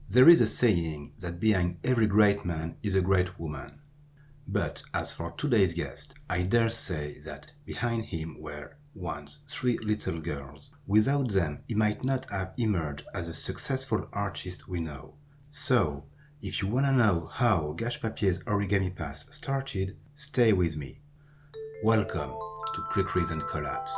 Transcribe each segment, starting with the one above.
There is a saying that behind every great man is a great woman. But as for today's guest, I dare say that behind him were once three little girls. Without them, he might not have emerged as a successful artist we know. So, if you wanna know how Gâche Papier's origami path started, stay with me. Welcome to Pre-Crise and Collapse.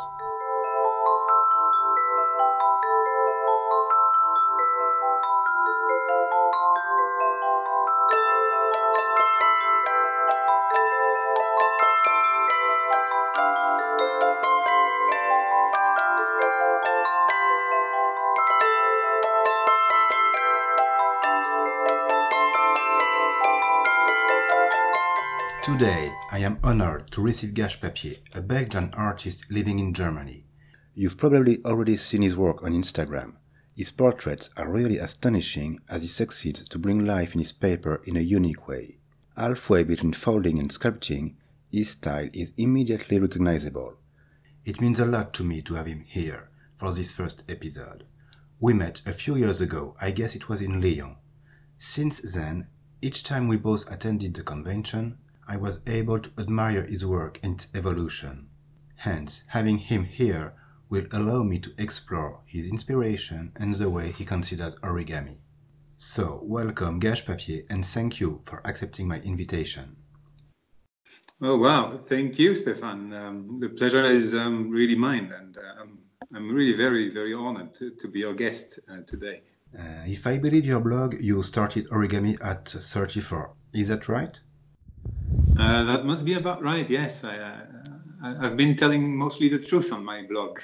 Today, I am honored to receive Gâche Papier, a Belgian artist living in Germany. You've probably already seen his work on Instagram. His portraits are really astonishing as he succeeds to bring life in his paper in a unique way. Halfway between folding and sculpting, his style is immediately recognizable. It means a lot to me to have him here for this first episode. We met a few years ago, I guess it was in Lyon. Since then, each time we both attended the convention, I was able to admire his work and its evolution. Hence, having him here will allow me to explore his inspiration and the way he considers origami. So, welcome Gâche Papier and thank you for accepting my invitation. Oh, wow. Thank you, Stefan. The pleasure is really mine, and I'm really very, very honored to be your guest today. If I believe your blog, you started origami at 34. Is that right? That must be about right, yes. I've been telling mostly the truth on my blog.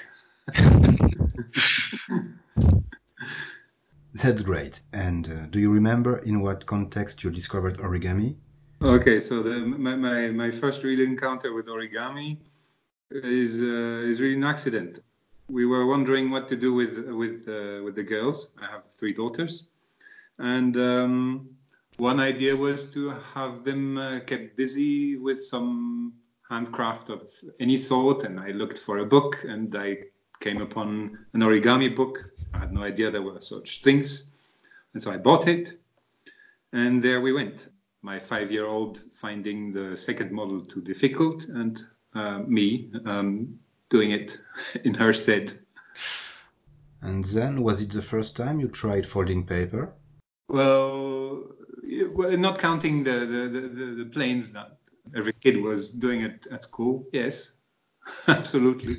That's great. And do you remember in what context you discovered origami? Okay, so my first real encounter with origami is really an accident. We were wondering what to do with the girls. I have 3 daughters, and one idea was to have them kept busy with some handcraft of any sort, and I looked for a book, and I came upon an origami book. I had no idea there were such things, and so I bought it, and there we went. My 5-year-old finding the second model too difficult, and me doing it in her stead. And then, was it the first time you tried folding paper? Well, not counting the planes that every kid was doing it at school. Yes, absolutely.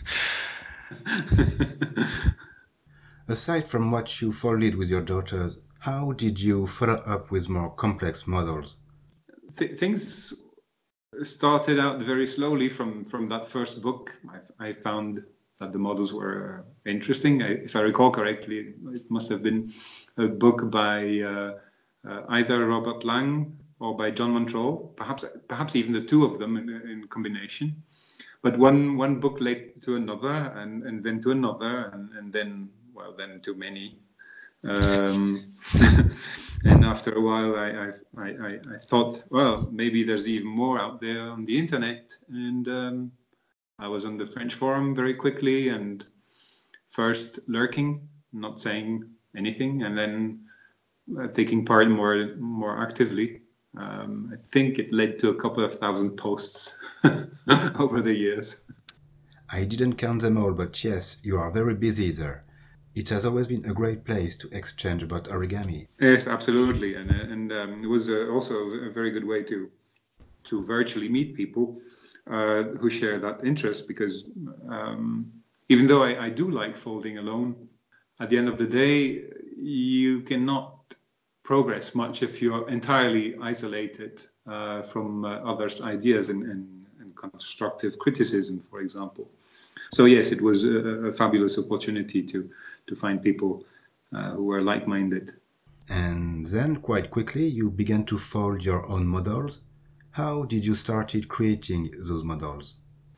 Aside from what you folded with your daughters, how did you follow up with more complex models? Things started out very slowly from that first book. I found that the models were interesting. If I recall correctly, it must have been a book by either Robert Lang or by John Montrol, perhaps even the two of them in combination. But one book led to another, and then to another, and then to many. And after a while, I thought, well, maybe there's even more out there on the internet. And I was on the French forum very quickly, and first lurking, not saying anything, and then taking part more actively. I think it led to a couple of thousand posts over the years. I didn't count them all, but yes, you are very busy there. It has always been a great place to exchange about origami. Yes, absolutely, and it was also a very good way to virtually meet people who share that interest, because even though I do like folding alone, at the end of the day, you cannot progress much if you're entirely isolated from others' ideas and constructive criticism, for example. So yes, it was a fabulous opportunity to find people who were like-minded. And then, quite quickly, you began to fold your own models. How did you started creating those models?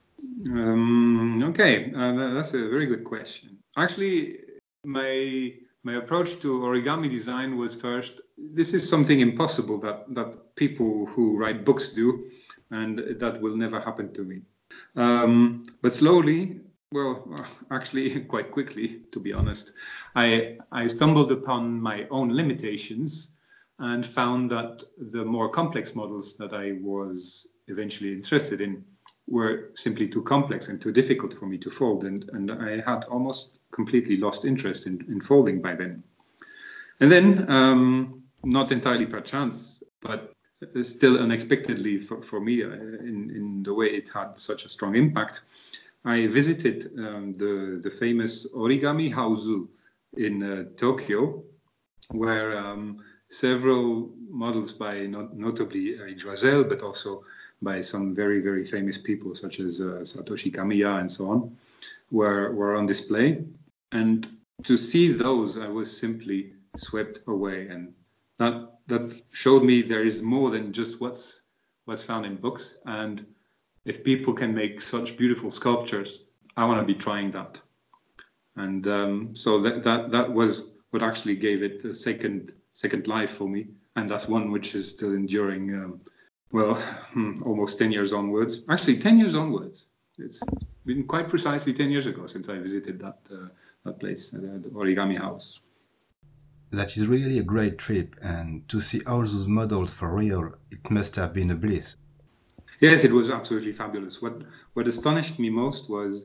Okay, that's a very good question. Actually, my approach to origami design was first, this is something impossible that people who write books do, and that will never happen to me. But slowly, Well, actually, quite quickly, to be honest. I stumbled upon my own limitations and found that the more complex models that I was eventually interested in were simply too complex and too difficult for me to fold. And I had almost completely lost interest in folding by then. And then, not entirely per chance, but still unexpectedly for me, in the way it had such a strong impact, I visited the famous Origami House in Tokyo, where several models by notably Eric Joisel, but also by some very, very famous people such as Satoshi Kamiya and so on, were on display. And to see those, I was simply swept away. And that showed me there is more than just what's found in books. And if people can make such beautiful sculptures, I want to be trying that. And so that was what actually gave it a second life for me, and that's one which is still enduring. Almost 10 years onwards. Actually, 10 years onwards. It's been quite precisely 10 years ago since I visited that place, the Origami House. That is really a great trip, and to see all those models for real, it must have been a bliss. Yes, it was absolutely fabulous. What astonished me most was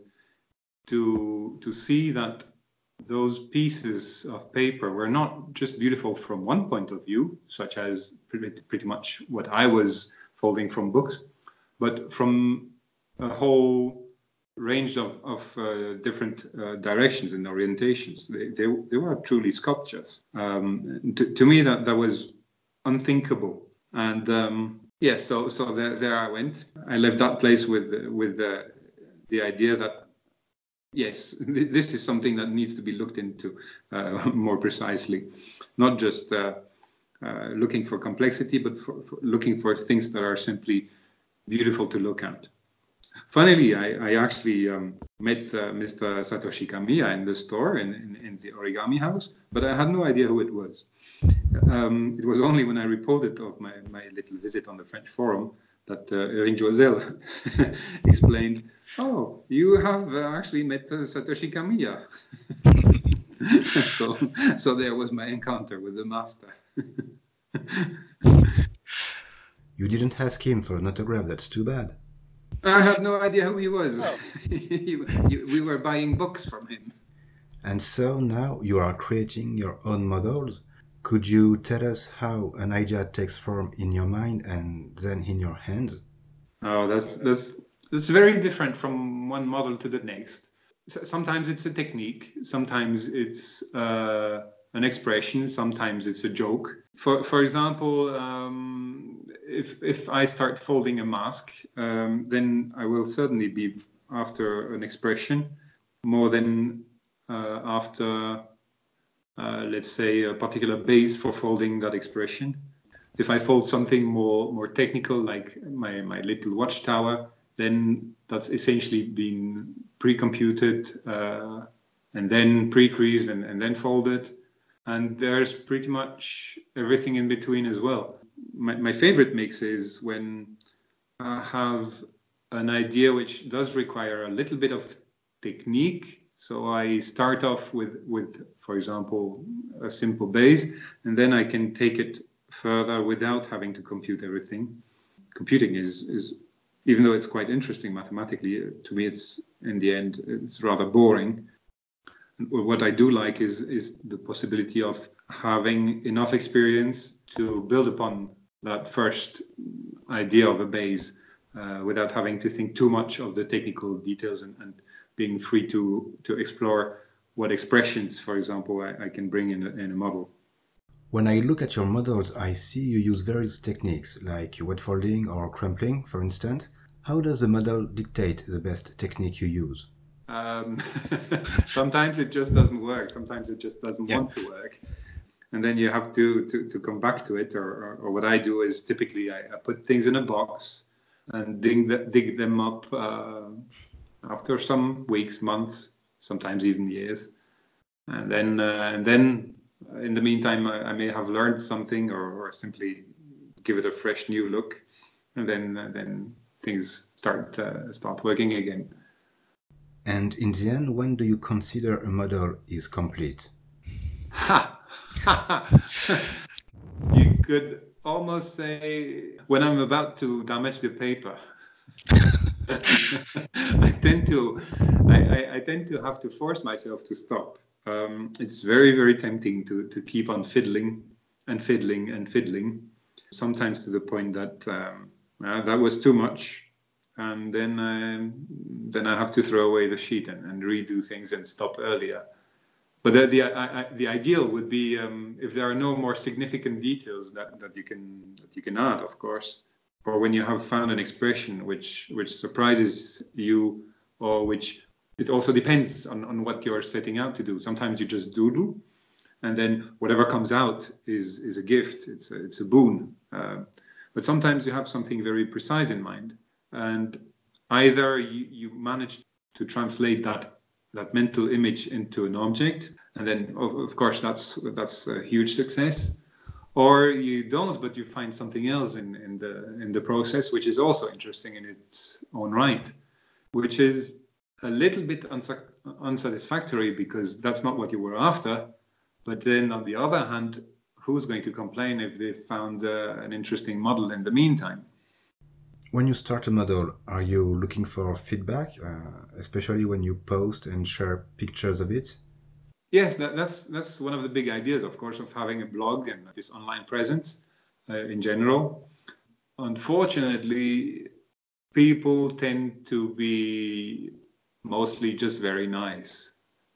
to see that those pieces of paper were not just beautiful from one point of view, such as pretty much what I was folding from books, but from a whole range of different directions and orientations. They were truly sculptures. To me, that was unthinkable. And so there I went. I left that place with the idea that, yes, this is something that needs to be looked into more precisely, not just looking for complexity, but for looking for things that are simply beautiful to look at. Funnily, I actually met Mr. Satoshi Kamiya in the store in the Origami House, but I had no idea who it was. It was only when I reported of my little visit on the French forum that Eric Joisel explained, "Oh, you have actually met Satoshi Kamiya." so there was my encounter with the master. You didn't ask him for an autograph, that's too bad. I had no idea who he was. We were buying books from him. And so now you are creating your own models. Could you tell us how an idea takes form in your mind and then in your hands? Oh, that's very different from one model to the next. Sometimes it's a technique, sometimes it's an expression, sometimes it's a joke. For example, if I start folding a mask, then I will certainly be after an expression more than after, let's say, a particular base for folding that expression. If I fold something more technical, like my little watchtower, then that's essentially been pre-computed and then pre-creased and then folded. And there's pretty much everything in between as well. My favorite mix is when I have an idea which does require a little bit of technique. So I start off with, for example, a simple base, and then I can take it further without having to compute everything. Computing is even though it's quite interesting mathematically, to me it's in the end it's rather boring. What I do like is the possibility of having enough experience to build upon that first idea of a base without having to think too much of the technical details and being free to explore what expressions, for example, I can bring in a model. When I look at your models, I see you use various techniques like wet folding or crumpling, for instance. How does the model dictate the best technique you use? Sometimes it just doesn't work. Sometimes it just doesn't want to work. And then you have to come back to it. Or what I do is typically I put things in a box and dig them up after some weeks, months, sometimes even years. And then in the meantime, I may have learned something or simply give it a fresh new look. And then things start working again. And in the end, when do you consider a model is complete? Ha! You could almost say when I'm about to damage the paper. I tend to have to force myself to stop. It's very, very tempting to keep on fiddling and fiddling and fiddling, sometimes to the point that that was too much. And then I have to throw away the sheet and redo things and stop earlier. But the ideal would be if there are no more significant details that you can add, of course, or when you have found an expression which surprises you, or which it also depends on what you're setting out to do. Sometimes you just doodle, and then whatever comes out is a gift. It's a boon. But sometimes you have something very precise in mind, and either you manage to translate that mental image into an object, and then of course that's a huge success, or you don't, but you find something else in the process which is also interesting in its own right, which is a little bit unsatisfactory because that's not what you were after. But then on the other hand, who's going to complain if they found an interesting model in the meantime? When you start a model, are you looking for feedback, especially when you post and share pictures of it? Yes, that's one of the big ideas, of course, of having a blog and this online presence in general. Unfortunately, people tend to be mostly just very nice,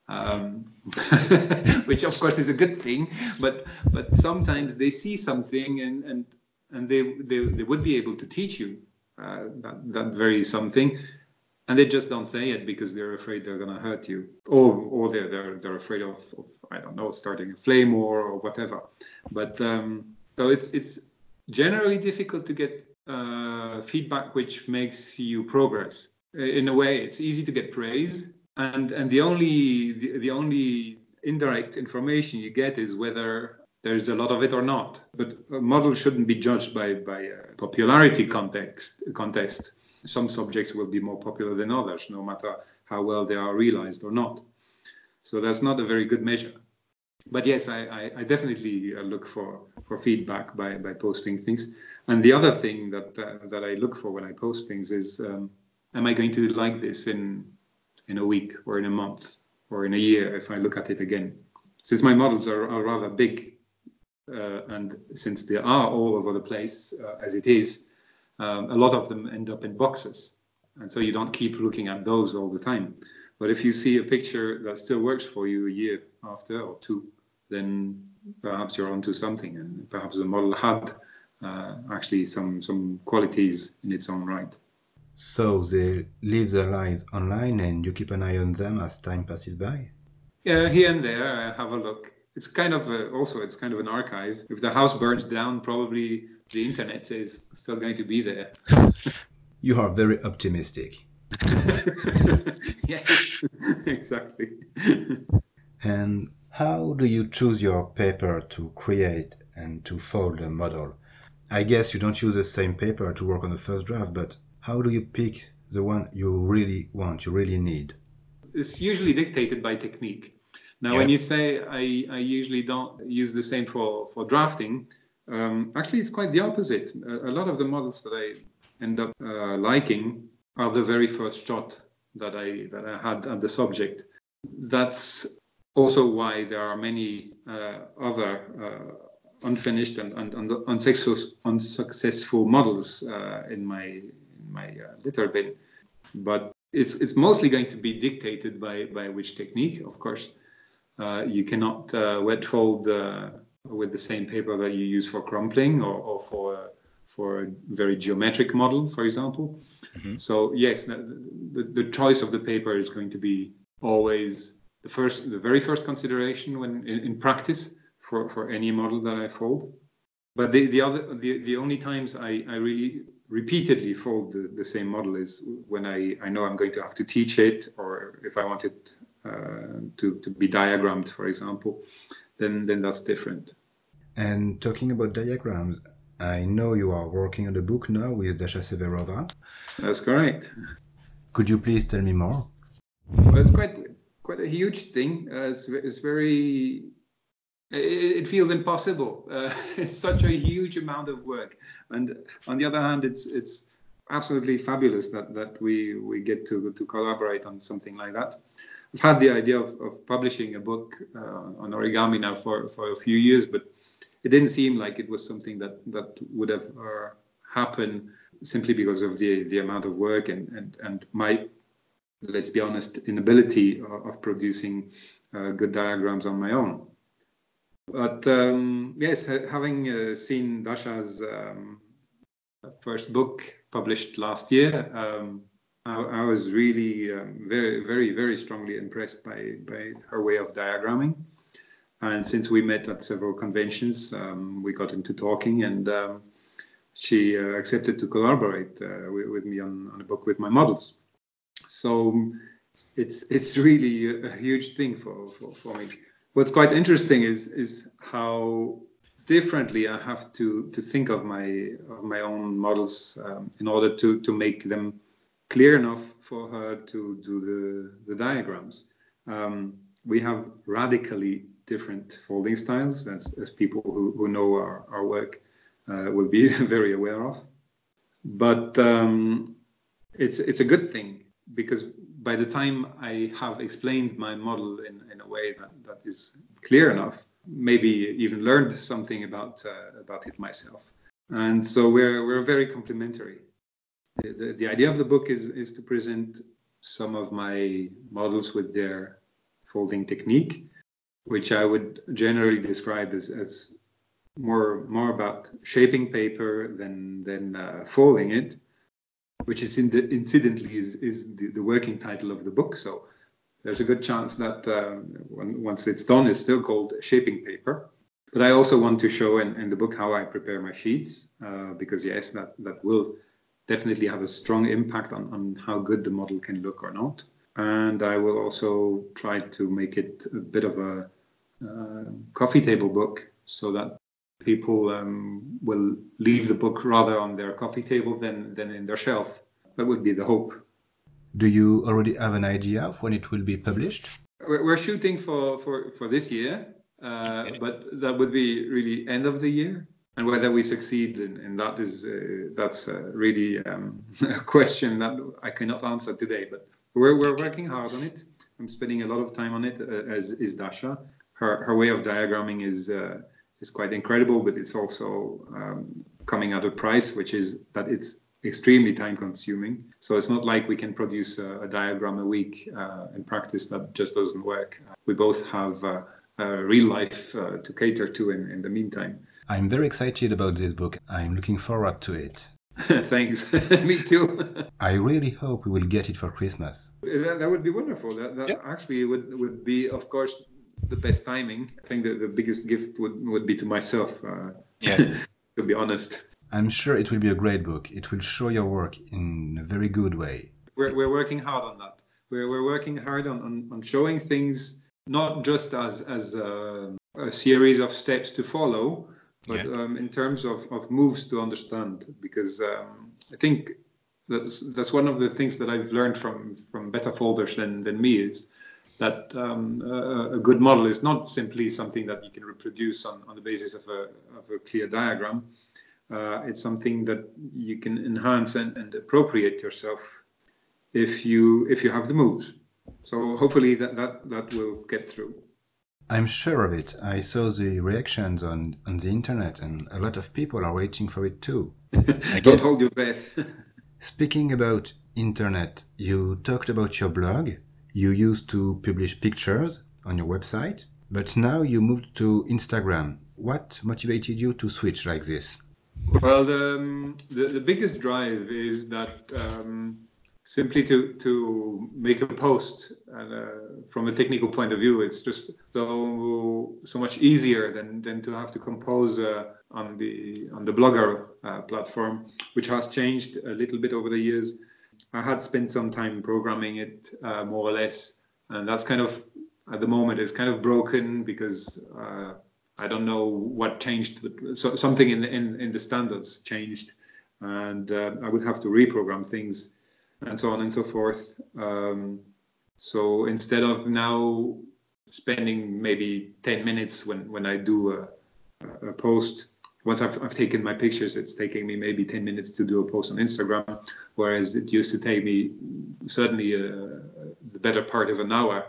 which of course is a good thing. But sometimes they see something and they would be able to teach you that very something, and they just don't say it because they're afraid they're going to hurt you, or they're afraid of I don't know, starting a flame war or whatever. But so it's generally difficult to get feedback which makes you progress. In a way, it's easy to get praise, and the only indirect information you get is whether there's a lot of it or not. But a model shouldn't be judged by a popularity contest. Some subjects will be more popular than others, no matter how well they are realized or not. So that's not a very good measure. But yes, I definitely look for feedback by posting things. And the other thing that I look for when I post things is, am I going to like this in a week or in a month or in a year if I look at it again? Since my models are rather big, and since they are all over the place as it is, a lot of them end up in boxes. And so you don't keep looking at those all the time. But if you see a picture that still works for you a year after or two, then perhaps you're onto something, and perhaps the model had actually some qualities in its own right. So they live their lives online and you keep an eye on them as time passes by? Yeah, here and there I have a look. It's kind of it's kind of an archive. If the house burns down, probably the internet is still going to be there. You are very optimistic. Yes, exactly. And how do you choose your paper to create and to fold a model? I guess you don't use the same paper to work on the first draft, but how do you pick the one you really want, you really need? It's usually dictated by technique. Now, when you say I usually don't use the same for drafting, actually it's quite the opposite. A lot of the models that I end up liking are the very first shot that I had at the subject. That's also why there are many other unfinished and unsuccessful models in my litter bin. But it's mostly going to be dictated by which technique, of course. You cannot wet fold with the same paper that you use for crumpling or for a very geometric model, for example. Mm-hmm. So yes, the choice of the paper is going to be always the very first consideration when in practice for any model that I fold. But the only times I really repeatedly fold the same model is when I know I'm going to have to teach it, or if I want it to be diagrammed, for example, then that's different. And talking about diagrams, I know you are working on a book now with Dasha Severova. That's correct. Could you please tell me more? Well, it's quite a huge thing. It's very. It feels impossible. It's such a huge amount of work, and on the other hand, it's absolutely fabulous that we get to collaborate on something like that. I've had the idea of publishing a book on origami now for a few years, but it didn't seem like it was something that would have happened simply because of the amount of work and my, let's be honest, inability of producing good diagrams on my own. But yes, having seen Dasha's first book published last year, I was really very, very, very strongly impressed by her way of diagramming. And since we met at several conventions, we got into talking, and she accepted to collaborate with me on a book with my models. So it's really a huge thing for me. What's quite interesting is how differently I have to think of my own models in order to make them clear enough for her to do the diagrams. We have radically different folding styles, as people who know our work will be very aware of. But it's a good thing, because by the time I have explained my model in a way that is clear enough, maybe even learned something about it myself. And so we're very complementary. The idea of the book is to present some of my models with their folding technique, which I would generally describe as more about shaping paper than folding it, which is incidentally is the working title of the book. So there's a good chance that once it's done, it's still called shaping paper. But I also want to show in the book how I prepare my sheets, because yes, that will definitely have a strong impact on how good the model can look or not. And I will also try to make it a bit of a coffee table book, so that people will leave the book rather on their coffee table than in their shelf. That would be the hope. Do you already have an idea of when it will be published? We're shooting for this year, but that would be really end of the year. And whether we succeed in that that's really a question that I cannot answer today. But we're working hard on it. I'm spending a lot of time on it, as is Dasha. Her way of diagramming is quite incredible, but it's also coming at a price which is that it's extremely time consuming. So it's not like we can produce a diagram a week in practice. That just doesn't work. We both have real life to cater to in the meantime. I'm very excited about this book. I'm looking forward to it. Thanks. Me too. I really hope we will get it for Christmas. That would be wonderful. That actually would be, of course, the best timing. I think that the biggest gift would be to myself, to be honest. I'm sure it will be a great book. It will show your work in a very good way. We're working hard on that. We're working hard on showing things not just as a series of steps to follow, but in terms of moves to understand. Because I think that's one of the things that I've learned from better folders than me, is that a good model is not simply something that you can reproduce on the basis of a clear diagram. It's something that you can enhance and appropriate yourself if you have the moves. So hopefully that will get through. I'm sure of it. I saw the reactions on the internet, and a lot of people are waiting for it too. Don't hold your breath. Speaking about internet, you talked about your blog. You used to publish pictures on your website, but now you moved to Instagram. What motivated you to switch like this? Well, the biggest drive is that simply to make a post, from a technical point of view, it's just so much easier than to have to compose on the Blogger platform, which has changed a little bit over the years. I had spent some time programming it, more or less, and that's kind of, at the moment, it's kind of broken because I don't know what changed. So something in the standards changed, and I would have to reprogram things and so on and so forth. So instead of now spending maybe 10 minutes when I do a post, once I've taken my pictures, it's taking me maybe 10 minutes to do a post on Instagram, whereas it used to take me certainly the better part of an hour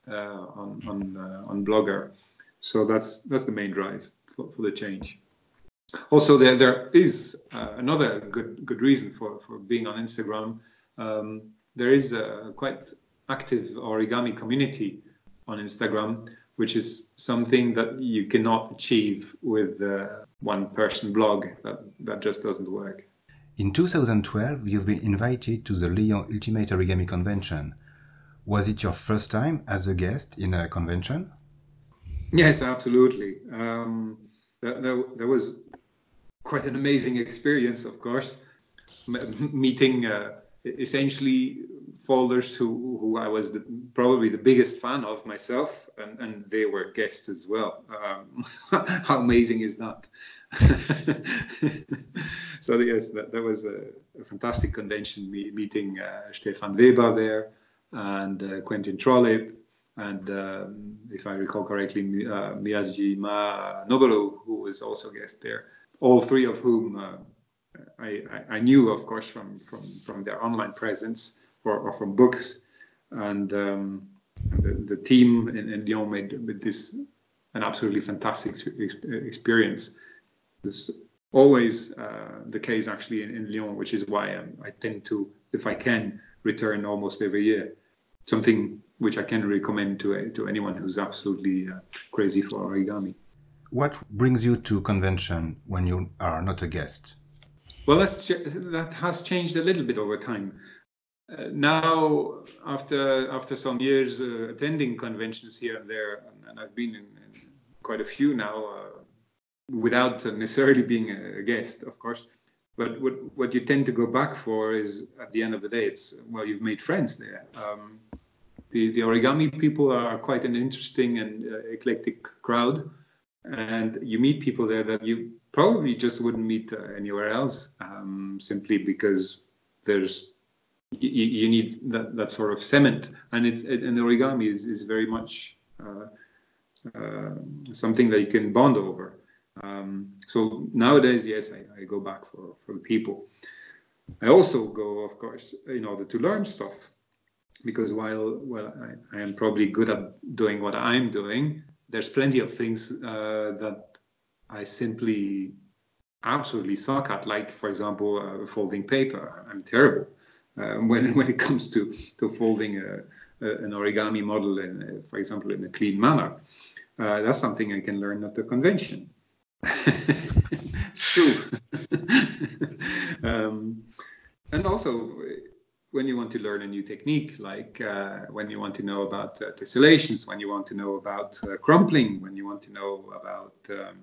on Blogger. So that's the main drive for the change. Also, there is another good reason for being on Instagram. There is a quite active origami community on Instagram, which is something that you cannot achieve with one-person blog. That just doesn't work. In 2012, you've been invited to the Lyon Ultimate Origami Convention. Was it your first time as a guest in a convention? Yes, absolutely. There was quite an amazing experience, of course, meeting essentially folders who I was probably the biggest fan of myself, and they were guests as well. How amazing is that? So yes, that was a fantastic convention, meeting Stefan Weber there, and Quentin Trollip, and if I recall correctly, Miyajima Noboru, who was also a guest there. All three of whom I knew, of course, from their online presence or from books, and the team in Lyon made this an absolutely fantastic experience. It's always the case actually in Lyon, which is why I tend to, if I can, return almost every year. Something which I can recommend to anyone who's absolutely crazy for origami. What brings you to convention when you are not a guest? Well, that has changed a little bit over time. Now, after some years attending conventions here and there, and I've been in quite a few now, without necessarily being a guest, of course. But what you tend to go back for is, at the end of the day, you've made friends there. The origami people are quite an interesting and eclectic crowd. And you meet people there that you probably just wouldn't meet anywhere else, simply because you need that sort of cement, and origami is very much something that you can bond over. So nowadays, yes, I go back for the people. I also go, of course, in order to learn stuff, because while I am probably good at doing what I'm doing, there's plenty of things that I simply absolutely suck at, like, for example, folding paper. I'm terrible when it comes to folding an origami model, for example, in a clean manner. That's something I can learn at the convention. True. And also, when you want to learn a new technique, like when you want to know about tessellations, when you want to know about crumpling, when you want to know about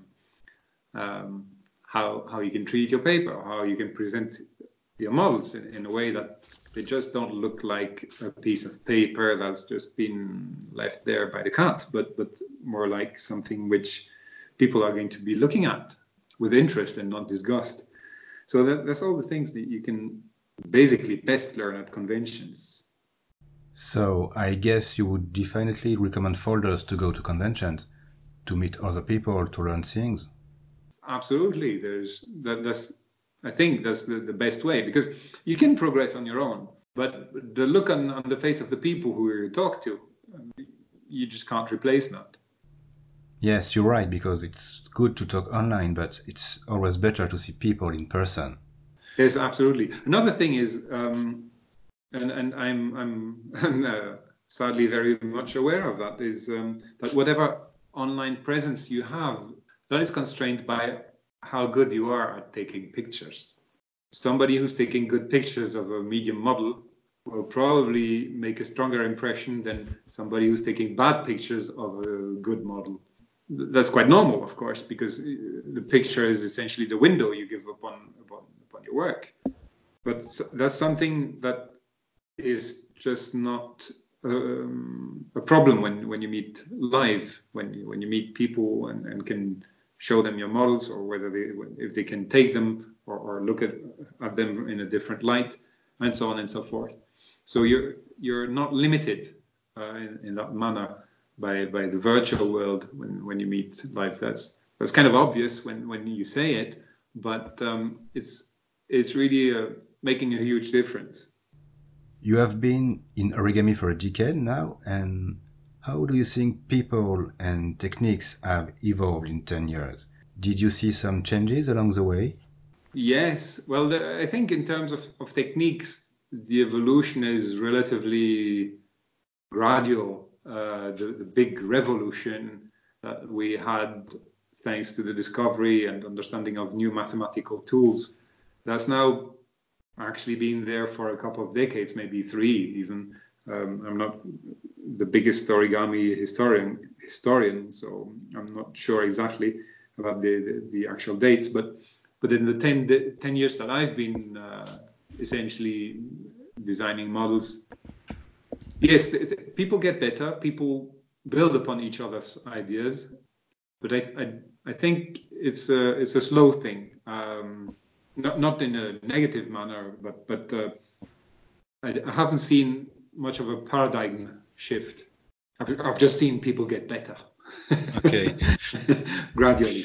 how you can treat your paper, or how you can present your models in a way that they just don't look like a piece of paper that's just been left there by the cat, but more like something which people are going to be looking at with interest and not disgust. So that's all the things that you can basically best learn at conventions. So I guess you would definitely recommend folders to go to conventions, to meet other people, to learn things. Absolutely. I think that's the best way, because you can progress on your own, but the look on the face of the people who you talk to, you just can't replace that. Yes, you're right, because it's good to talk online, but it's always better to see people in person. Yes, absolutely. Another thing is, and I'm sadly very much aware of that, is that whatever online presence you have, that is constrained by how good you are at taking pictures. Somebody who's taking good pictures of a medium model will probably make a stronger impression than somebody who's taking bad pictures of a good model. That's quite normal, of course, because the picture is essentially the window you give upon your work. But that's something that is just not a problem when you meet live, when you meet people and can show them your models, or if they can take them or look at them in a different light, and so on and so forth. So you're not limited in that manner by the virtual world when you meet live. That's kind of obvious when you say it, but it's really making a huge difference. You have been in origami for a decade now, and how do you think people and techniques have evolved in 10 years? Did you see some changes along the way? Yes, well, I think in terms of techniques, the evolution is relatively gradual. The big revolution that we had thanks to the discovery and understanding of new mathematical tools, that's now actually been there for a couple of decades, maybe 3 even. I'm not the biggest origami historian, so I'm not sure exactly about the actual dates, but in the 10 years that I've been essentially designing models, yes, people get better, people build upon each other's ideas, but I think it's a slow thing, not in a negative manner, but I haven't seen much of a paradigm shift. I've just seen people get better. Okay. Gradually.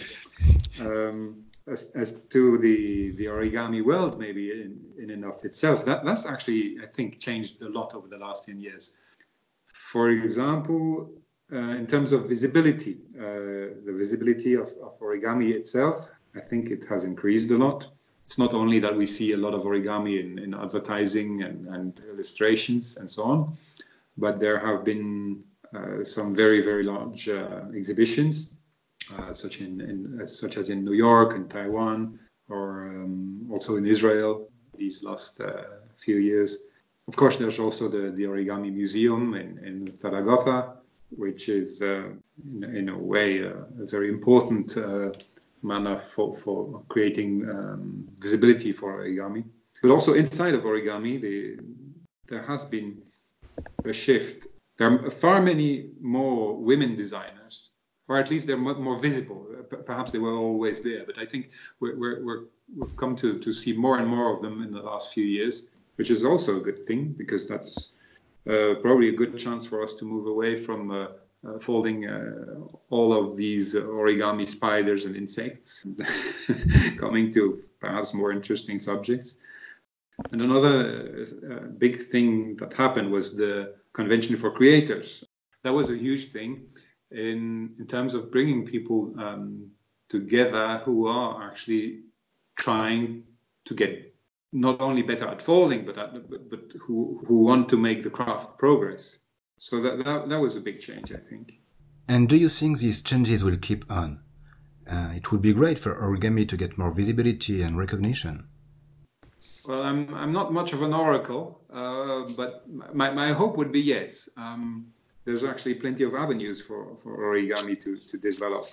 As to the origami world, maybe in and of itself, that's actually, I think, changed a lot over the last 10 years. For example, in terms of visibility, the visibility of origami itself, I think it has increased a lot. It's not only that we see a lot of origami in advertising and illustrations and so on, but there have been some very, very large exhibitions, such as in New York and Taiwan, or also in Israel these last few years. Of course, there's also the Origami Museum in Zaragoza, which is in a way a very important manner for creating visibility for origami. But also inside of origami, there has been a shift. There are far many more women designers, or at least they're more visible. Perhaps they were always there, but I think we've come to see more and more of them in the last few years, which is also a good thing, because that's probably a good chance for us to move away from folding all of these origami spiders and insects, coming to perhaps more interesting subjects. And another big thing that happened was the Convention for Creators. That was a huge thing in terms of bringing people together who are actually trying to get not only better at folding, but who want to make the craft progress. So that was a big change, I think. And do you think these changes will keep on? It would be great for origami to get more visibility and recognition. Well, I'm not much of an oracle, but my hope would be yes. There's actually plenty of avenues for origami to develop.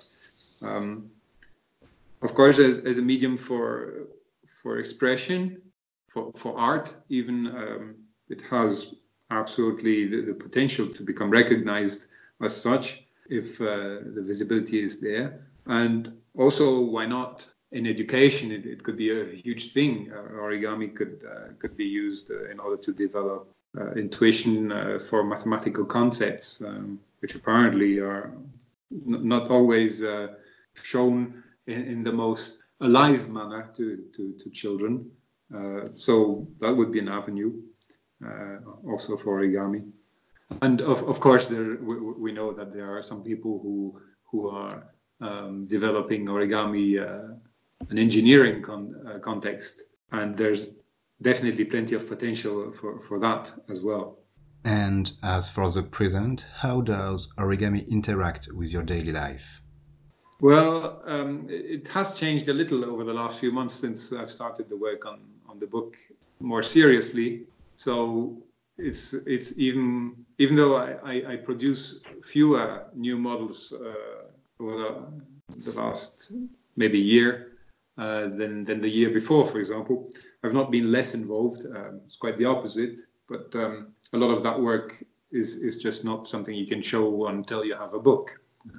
Of course, as a medium for expression, for art, even it has absolutely the potential to become recognized as such if the visibility is there. And also, why not? In education, it could be a huge thing. Origami could be used in order to develop intuition for mathematical concepts, which apparently are not always shown in the most alive manner to children. So that would be an avenue also for origami. And of course, we know that there are some people who are developing origami an engineering context, and there's definitely plenty of potential for that as well. And as for the present, how does origami interact with your daily life? Well, it has changed a little over the last few months since I've started the work on the book more seriously. So it's even though I produce fewer new models over the last maybe year than the year before, for example, I've not been less involved. It's quite the opposite. But a lot of that work is just not something you can show until you have a book.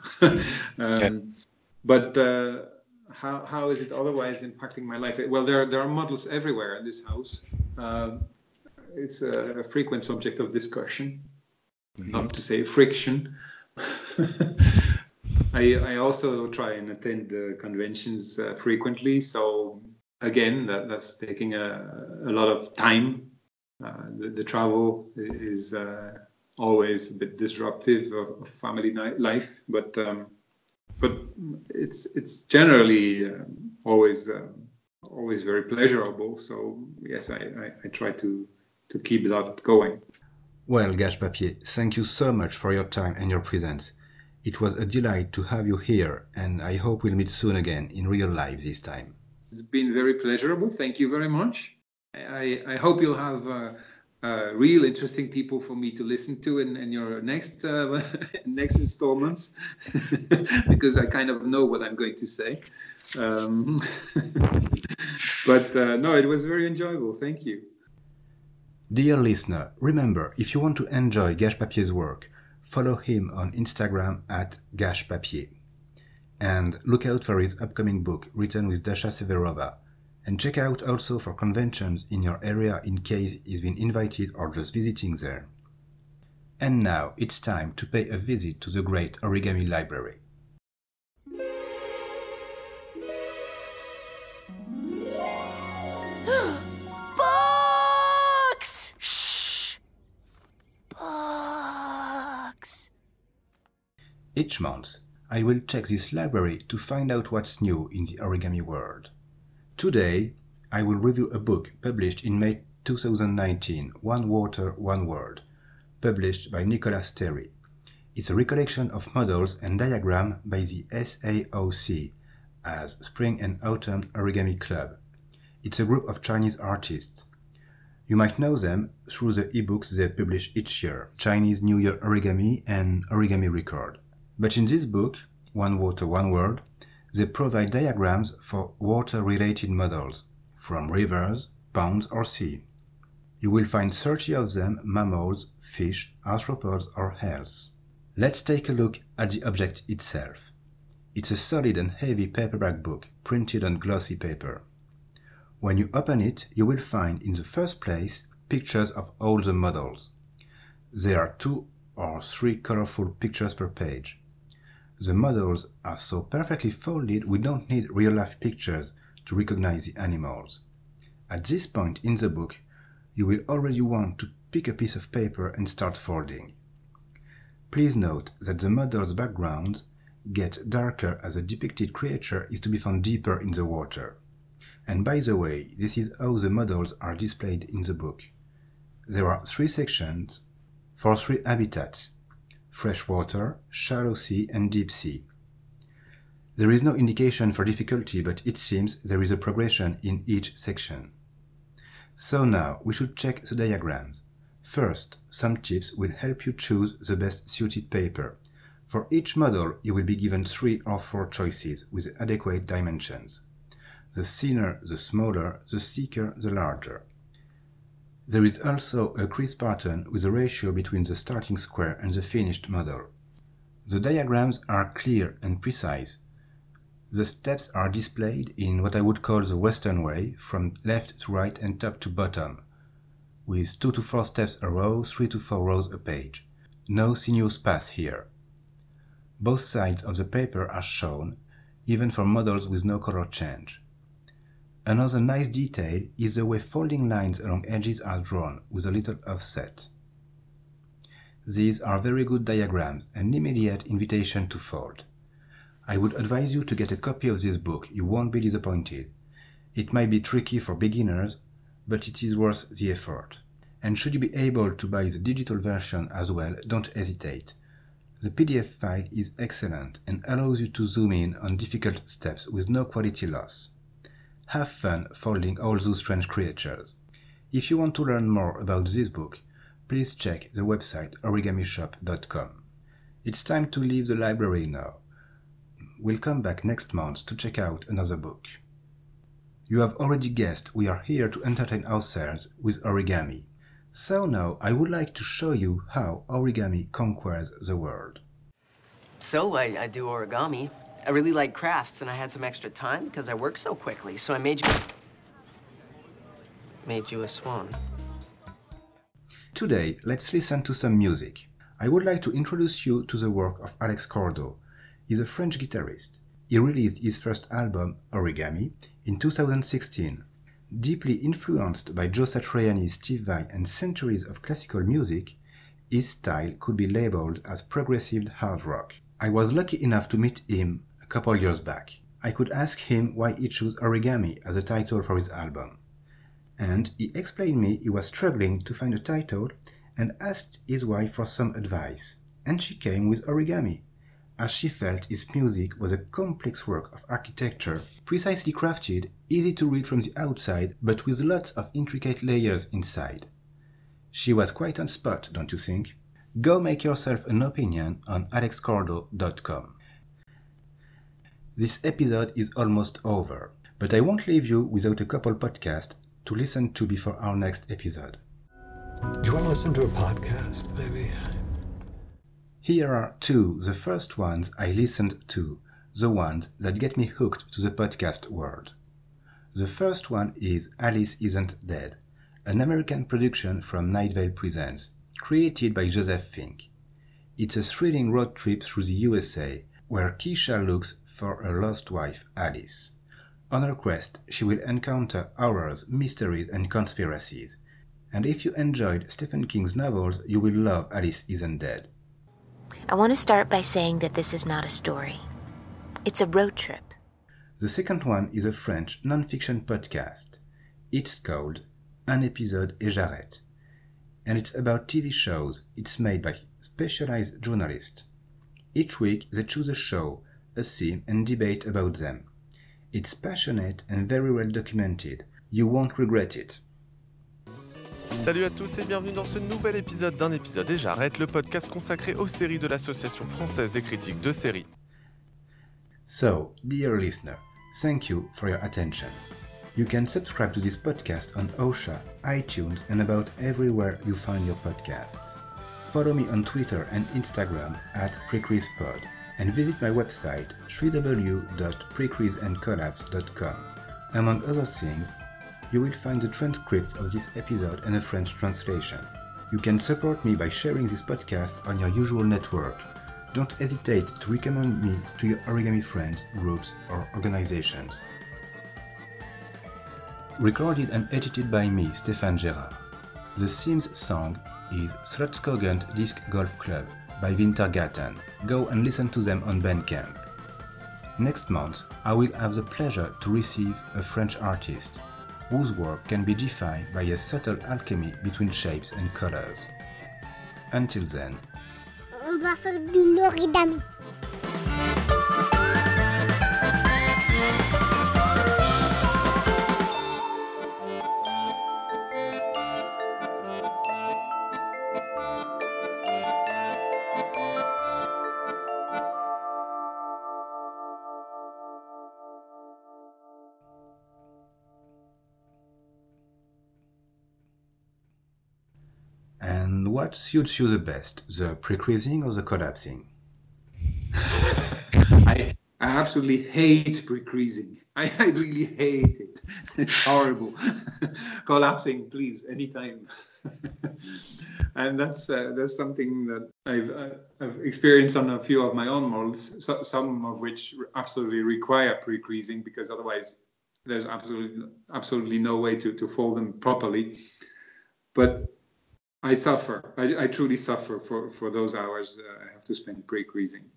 But how is it otherwise impacting my life? Well, there are models everywhere in this house. It's a frequent subject of discussion. not to say friction. I also try and attend the conventions frequently. So again, that's taking a lot of time. The travel is always a bit disruptive of family life, but it's generally always very pleasurable. So yes, I try to keep that going. Well, Gash Papier, thank you so much for your time and your presence. It was a delight to have you here, and I hope we'll meet soon again in real life this time. It's been very pleasurable. Thank you very much. I hope you'll have real interesting people for me to listen to in your next next installments, because I kind of know what I'm going to say. But no, it was very enjoyable. Thank you. Dear listener, remember, if you want to enjoy Gash Papier's work, follow him on Instagram at Gash Papier. And look out for his upcoming book written with Dasha Severova. And check out also for conventions in your area in case he's been invited or just visiting there. And now it's time to pay a visit to the great Origami Library. Books! Shh! Books! Each month, I will check this library to find out what's new in the origami world. Today, I will review a book published in May 2019, One Water, One World, published by Nicolas Terry. It's a recollection of models and diagrams by the SAOC, as Spring and Autumn Origami Club. It's a group of Chinese artists. You might know them through the ebooks they publish each year, Chinese New Year Origami and Origami Record. But in this book, One Water, One World, they provide diagrams for water-related models, from rivers, ponds or sea. You will find 30 of them mammals, fish, arthropods or hells. Let's take a look at the object itself. It's a solid and heavy paperback book printed on glossy paper. When you open it, you will find in the first place pictures of all the models. There are 2 or 3 colorful pictures per page. The models are so perfectly folded we don't need real-life pictures to recognize the animals. At this point in the book, you will already want to pick a piece of paper and start folding. Please note that the models' backgrounds get darker as the depicted creature is to be found deeper in the water. And by the way, this is how the models are displayed in the book. There are 3 sections for 3 habitats: freshwater, shallow sea and deep sea. There is no indication for difficulty, but it seems there is a progression in each section. So now we should check the diagrams. First, some tips will help you choose the best suited paper. For each model, you will be given 3 or 4 choices with adequate dimensions. The thinner, the smaller, the thicker, the larger. There is also a crease pattern with a ratio between the starting square and the finished model. The diagrams are clear and precise. The steps are displayed in what I would call the Western way, from left to right and top to bottom, with 2 to 4 steps a row, 3 to 4 rows a page. No sinuous path here. Both sides of the paper are shown, even for models with no color change. Another nice detail is the way folding lines along edges are drawn with a little offset. These are very good diagrams, an immediate invitation to fold. I would advise you to get a copy of this book, you won't be disappointed. It might be tricky for beginners, but it is worth the effort. And should you be able to buy the digital version as well, don't hesitate. The PDF file is excellent and allows you to zoom in on difficult steps with no quality loss. Have fun folding all those strange creatures. If you want to learn more about this book, please check the website origamishop.com. It's time to leave the library now. We'll come back next month to check out another book. You have already guessed we are here to entertain ourselves with origami. So now I would like to show you how origami conquers the world. So I do origami. I really like crafts, and I had some extra time because I work so quickly, so I made you a swan. Today, let's listen to some music. I would like to introduce you to the work of Alex Cordo. He's a French guitarist. He released his first album, Origami, in 2016. Deeply influenced by Joe Satriani, Steve Vai, and centuries of classical music, his style could be labeled as progressive hard rock. I was lucky enough to meet him a couple years back. I could ask him why he chose Origami as a title for his album. And he explained me he was struggling to find a title and asked his wife for some advice. And she came with Origami, as she felt his music was a complex work of architecture, precisely crafted, easy to read from the outside, but with lots of intricate layers inside. She was quite on spot, don't you think? Go make yourself an opinion on alexcordo.com. This episode is almost over, but I won't leave you without a couple podcasts to listen to before our next episode. Do you want to listen to a podcast, maybe? Here are two, the first ones I listened to, the ones that get me hooked to the podcast world. The first one is Alice Isn't Dead, an American production from Night Vale Presents, created by Joseph Fink. It's a thrilling road trip through the USA, where Keisha looks for her lost wife, Alice. On her quest, she will encounter horrors, mysteries, and conspiracies. And if you enjoyed Stephen King's novels, you will love Alice Isn't Dead. I want to start by saying that this is not a story. It's a road trip. The second one is a French non-fiction podcast. It's called Un épisode et j'arrête. And it's about TV shows. It's made by specialized journalists. Each week they choose a show, a theme, and debate about them. It's passionate and very well documented. You won't regret it. Salut à tous et bienvenue dans ce nouvel épisode d'Un épisode et j'arrête, le podcast consacré aux séries de l'Association française des critiques de séries. So, dear listener, thank you for your attention. You can subscribe to this podcast on OSHA, iTunes, and about everywhere you find your podcasts. Follow me on Twitter and Instagram at PrecreasePod, and visit my website www.precreaseandcollapse.com. Among other things, you will find the transcript of this episode and a French translation. You can support me by sharing this podcast on your usual network. Don't hesitate to recommend me to your origami friends, groups, or organizations. Recorded and edited by me, Stéphane Gérard. The theme's song is Slotskogen Disc Golf Club by Wintergatten. Go and listen to them on Bandcamp. Next month, I will have the pleasure to receive a French artist whose work can be defined by a subtle alchemy between shapes and colors. Until then, on va faire du l'origami. And what suits you the best, the pre-creasing or the collapsing? I absolutely hate pre-creasing. I really hate it. It's horrible. Collapsing, please, anytime. And that's something that I've experienced on a few of my own molds, some of which absolutely require pre-creasing because otherwise there's absolutely no way to fold them properly. But I suffer. I truly suffer for those hours I have to spend pre-creasing.